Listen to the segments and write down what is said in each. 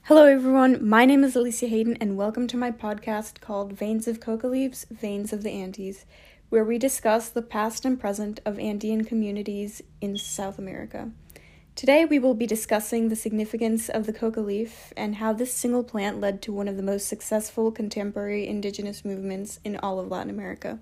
Hello everyone, my name is Alicia Hayden and welcome to my podcast called Veins of Coca Leaves, Veins of the Andes, where we discuss the past and present of Andean communities in South America. Today we will be discussing the significance of the coca leaf and how this single plant led to one of the most successful contemporary indigenous movements in all of Latin America.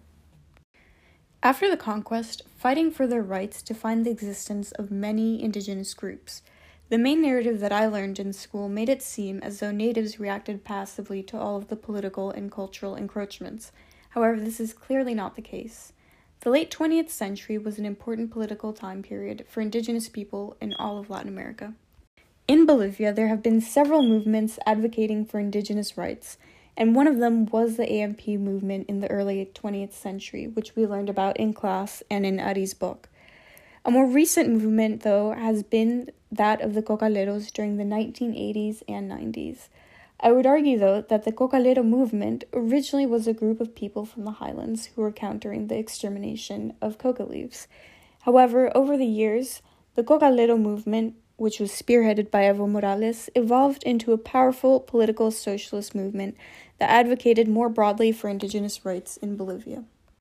After the conquest, fighting for their rights defined the existence of many indigenous groups. The main narrative that I learned in school made it seem as though natives reacted passively to all of the political and cultural encroachments. However, this is clearly not the case. The late 20th century was an important political time period for indigenous people in all of Latin America. In Bolivia, there have been several movements advocating for indigenous rights, and one of them was the AMP movement in the early 20th century, which we learned about in class and in Ari's book. A more recent movement, though, has been that of the cocaleros during the 1980s and 90s. I would argue, though, that the cocalero movement originally was a group of people from the highlands who were countering the extermination of coca leaves. However, over the years, the cocalero movement, which was spearheaded by Evo Morales, evolved into a powerful political socialist movement that advocated more broadly for indigenous rights in Bolivia.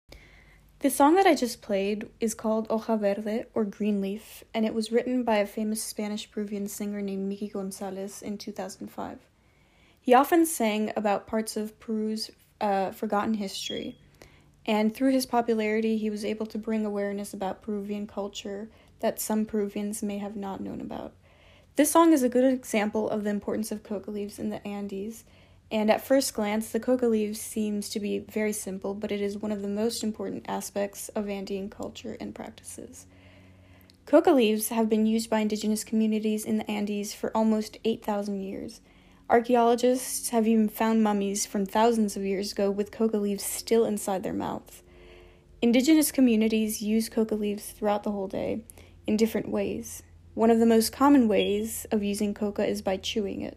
The song that I just played is called Hoja Verde, or Green Leaf, and it was written by a famous Spanish-Peruvian singer named Miki Gonzalez in 2005. He often sang about parts of Peru's forgotten history, and through his popularity, he was able to bring awareness about Peruvian culture that some Peruvians may have not known about. This song is a good example of the importance of coca leaves in the Andes, and at first glance, the coca leaves seems to be very simple, but it is one of the most important aspects of Andean culture and practices. Coca leaves have been used by indigenous communities in the Andes for almost 8,000 years. Archaeologists have even found mummies from thousands of years ago with coca leaves still inside their mouths. Indigenous communities use coca leaves throughout the whole day in different ways. One of the most common ways of using coca is by chewing it.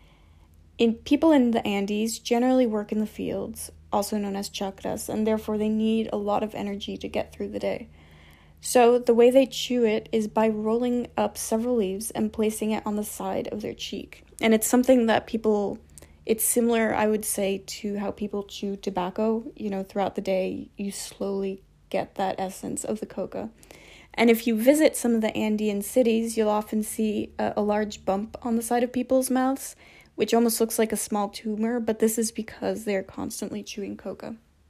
People in the Andes generally work in the fields, also known as chacras, and therefore they need a lot of energy to get through the day. So the way they chew it is by rolling up several leaves and placing it on the side of their cheek. And it's something that it's similar, I would say, to how people chew tobacco. Throughout the day, you slowly get that essence of the coca. And if you visit some of the Andean cities, you'll often see a large bump on the side of people's mouths, which almost looks like a small tumor, but this is because they're constantly chewing coca.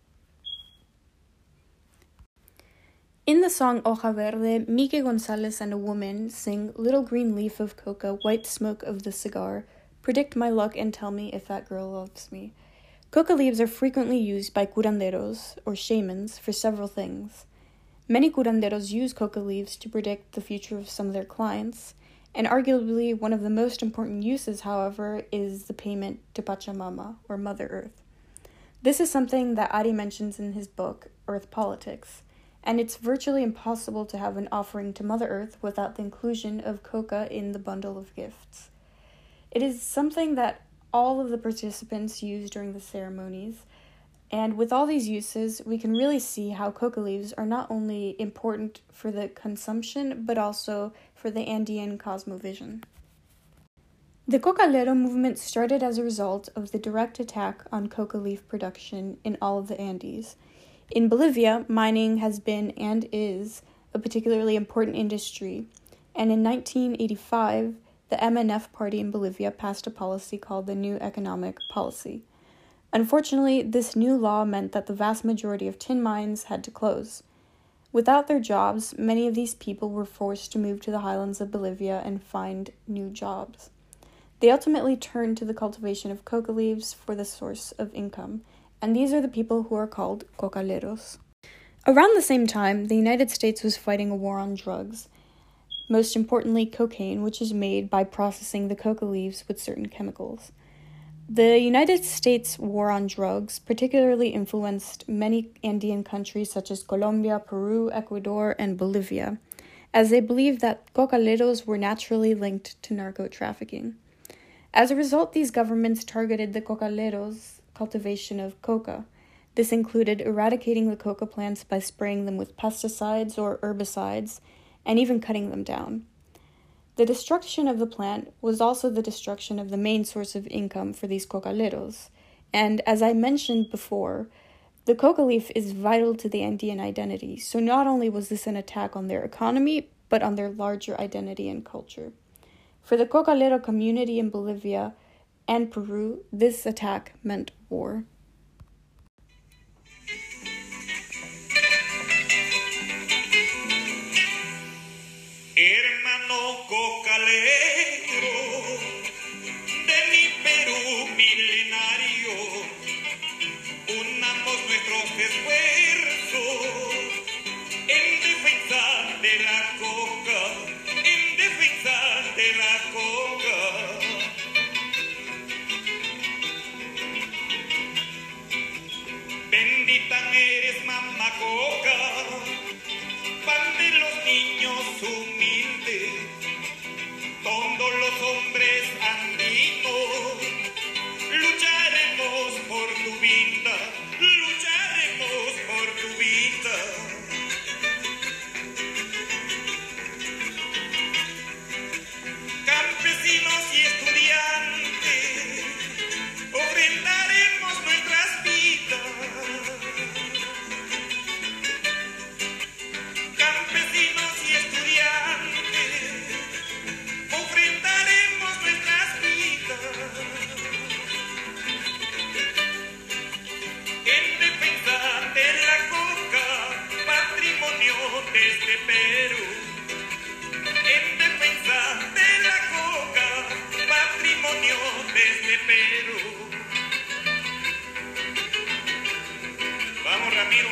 In the song Hoja Verde, Miki Gonzalez and a woman sing Little Green Leaf of Coca, White Smoke of the Cigar, predict my luck and tell me if that girl loves me. Coca leaves are frequently used by curanderos, or shamans, for several things. Many curanderos use coca leaves to predict the future of some of their clients, and arguably one of the most important uses, however, is the payment to Pachamama, or Mother Earth. This is something that Ari mentions in his book, Earth Politics, and it's virtually impossible to have an offering to Mother Earth without the inclusion of coca in the bundle of gifts. It is something that all of the participants use during the ceremonies, and with all these uses, we can really see how coca leaves are not only important for the consumption, but also for the Andean cosmovision. The cocalero movement started as a result of the direct attack on coca leaf production in all of the Andes. In Bolivia, mining has been and is a particularly important industry, and in 1985, the MNF party in Bolivia passed a policy called the New Economic Policy. Unfortunately, this new law meant that the vast majority of tin mines had to close. Without their jobs, many of these people were forced to move to the highlands of Bolivia and find new jobs. They ultimately turned to the cultivation of coca leaves for the source of income, and these are the people who are called cocaleros. Around the same time, the United States was fighting a war on drugs, most importantly cocaine, which is made by processing the coca leaves with certain chemicals. The United States war on drugs particularly influenced many Andean countries such as Colombia, Peru, Ecuador, and Bolivia, as they believed that cocaleros were naturally linked to narco-trafficking. As a result, these governments targeted the cocaleros' cultivation of coca. This included eradicating the coca plants by spraying them with pesticides or herbicides, and even cutting them down. The destruction of the plant was also the destruction of the main source of income for these cocaleros. And as I mentioned before, the coca leaf is vital to the Andean identity, so not only was this an attack on their economy, but on their larger identity and culture. For the cocalero community in Bolivia and Peru, this attack meant war. Hermano cocalero de mi Perú milenario, unamos nuestros esfuerzos en defensa de la coca, en defensa de la coca. Bendita eres, mamá coca, pan de los niños humildes, todos los hombres andinos, lucharemos por tu vida, lucharemos por tu vida. Campesinos y estudiantes, ofrendaremos nuestras vidas. Campesinos y estudiantes, ofrendaremos nuestras vidas en defensa de la coca, patrimonio de este Perú. En defensa de la coca, patrimonio de este Perú. Vamos, Ramiro.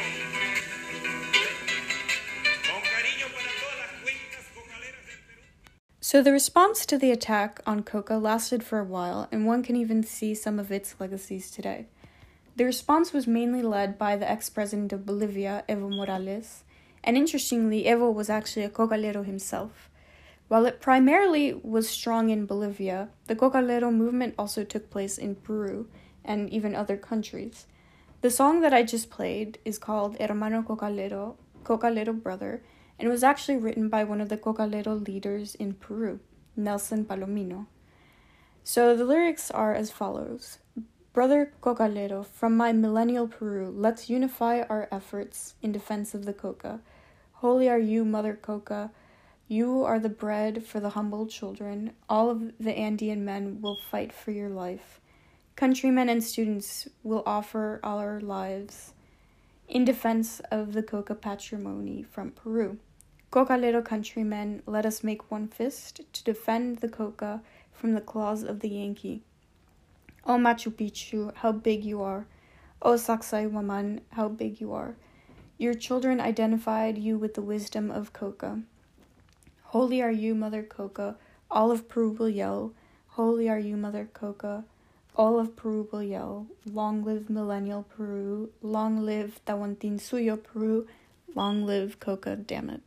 So the response to the attack on coca lasted for a while, and one can even see some of its legacies today. The response was mainly led by the ex-president of Bolivia, Evo Morales, and interestingly, Evo was actually a cocalero himself. While it primarily was strong in Bolivia, the cocalero movement also took place in Peru and even other countries. The song that I just played is called Hermano Cocalero, Cocalero Brother, and was actually written by one of the cocalero leaders in Peru, Nelson Palomino. So the lyrics are as follows. Brother Cocalero, from my millennial Peru, let's unify our efforts in defense of the coca. Holy are you, Mother Coca. You are the bread for the humble children. All of the Andean men will fight for your life. Countrymen and students will offer our lives in defense of the coca patrimony from Peru. Cocalero countrymen, let us make one fist to defend the coca from the claws of the Yankee. O Machu Picchu, how big you are. O Sacsayhuaman, how big you are. Your children identified you with the wisdom of coca. Holy are you, Mother Coca. All of Peru will yell. Holy are you, Mother Coca. All of Peru will yell. Long live millennial Peru. Long live Tawantinsuyo Peru. Long live coca, damn it.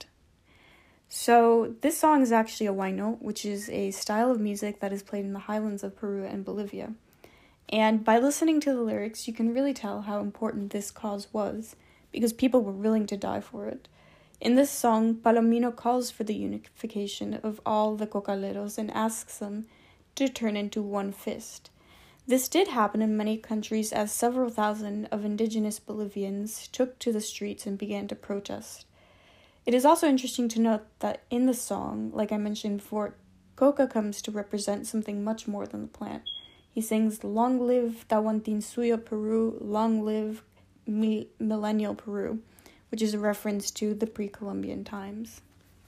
So this song is actually a huayno, which is a style of music that is played in the highlands of Peru and Bolivia. And by listening to the lyrics, you can really tell how important this cause was, because people were willing to die for it. In this song, Palomino calls for the unification of all the cocaleros and asks them to turn into one fist. This did happen in many countries as several thousand of indigenous Bolivians took to the streets and began to protest. It is also interesting to note that in the song, like I mentioned before, coca comes to represent something much more than the plant. He sings, long live Tawantinsuyo Peru, long live millennial Peru, which is a reference to the pre-Columbian times.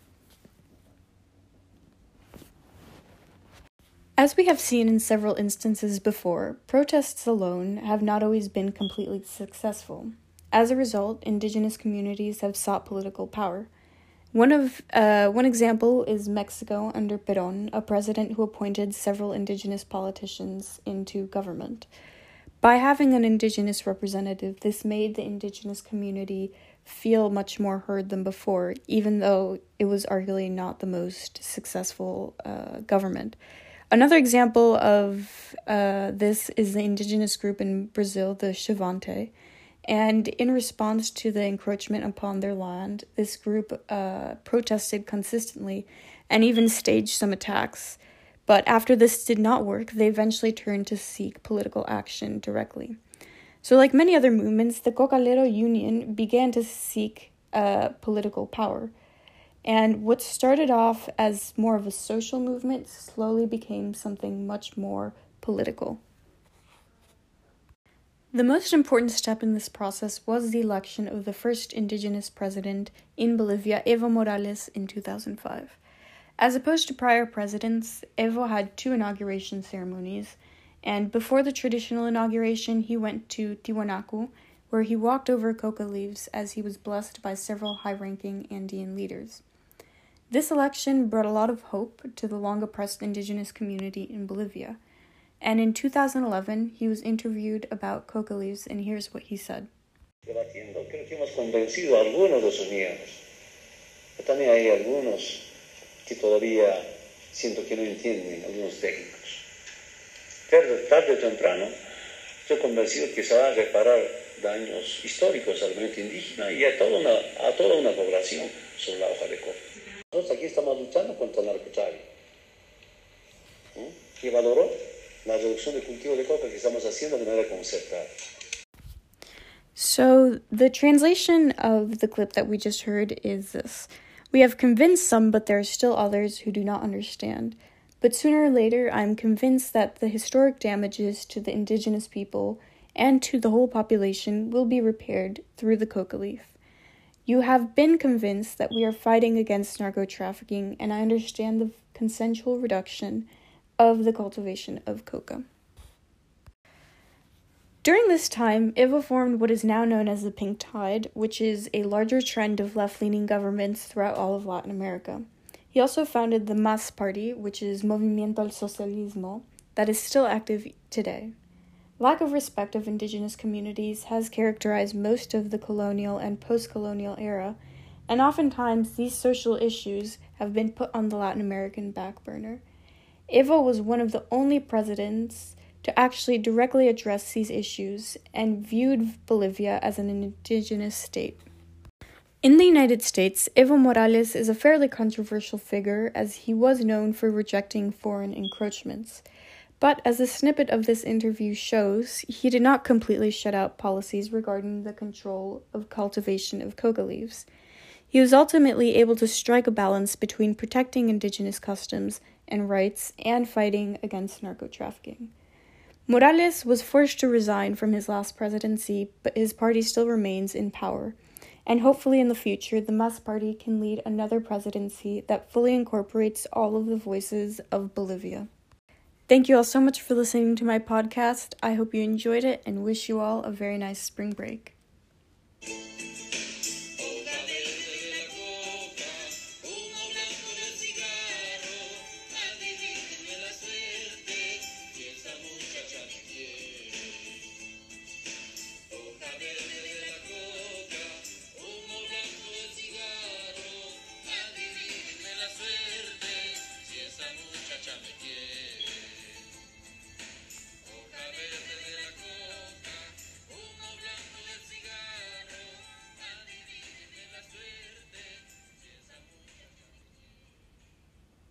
As we have seen in several instances before, protests alone have not always been completely successful. As a result, indigenous communities have sought political power. One example is Mexico under Perón, a president who appointed several indigenous politicians into government. By having an indigenous representative, this made the indigenous community feel much more heard than before, even though it was arguably not the most successful government. Another example of this is the indigenous group in Brazil, the Xavante. And in response to the encroachment upon their land, this group protested consistently and even staged some attacks. But after this did not work, they eventually turned to seek political action directly. So like many other movements, the Cocalero Union began to seek political power. And what started off as more of a social movement slowly became something much more political. The most important step in this process was the election of the first indigenous president in Bolivia, Evo Morales, in 2005. As opposed to prior presidents, Evo had 2 inauguration ceremonies, and before the traditional inauguration, he went to Tiwanaku, where he walked over coca leaves as he was blessed by several high-ranking Andean leaders. This election brought a lot of hope to the long-oppressed indigenous community in Bolivia, and in 2011, he was interviewed about coca leaves, and here's what he said. Debatiendo, creo que hemos convencido a algunos de sus miembros, pero también hay algunos que todavía siento que no entienden, algunos técnicos. Tarde o temprano, estoy convencido que se va a reparar daños históricos al movimiento indígena y a toda una población sobre la hoja de coca. Nosotros aquí estamos luchando contra el narcotráfico. ¿Y valoró la reducción de cultivo de coca que estamos haciendo de manera concertada? So, the translation of the clip that we just heard is this. We have convinced some, but there are still others who do not understand. But sooner or later, I am convinced that the historic damages to the indigenous people and to the whole population will be repaired through the coca leaf. You have been convinced that we are fighting against narco-trafficking, and I understand the consensual reduction of the cultivation of coca. During this time, Evo formed what is now known as the Pink Tide, which is a larger trend of left-leaning governments throughout all of Latin America. He also founded the MAS party, which is Movimiento al Socialismo, that is still active today. Lack of respect of indigenous communities has characterized most of the colonial and post-colonial era, and oftentimes these social issues have been put on the Latin American back burner. Evo was one of the only presidents to actually directly address these issues and viewed Bolivia as an indigenous state. In the United States, Evo Morales is a fairly controversial figure as he was known for rejecting foreign encroachments. But as a snippet of this interview shows, he did not completely shut out policies regarding the control of cultivation of coca leaves. He was ultimately able to strike a balance between protecting indigenous customs and rights and fighting against narco-trafficking. Morales was forced to resign from his last presidency, but his party still remains in power. And hopefully in the future, the MAS party can lead another presidency that fully incorporates all of the voices of Bolivia. Thank you all so much for listening to my podcast. I hope you enjoyed it and wish you all a very nice spring break.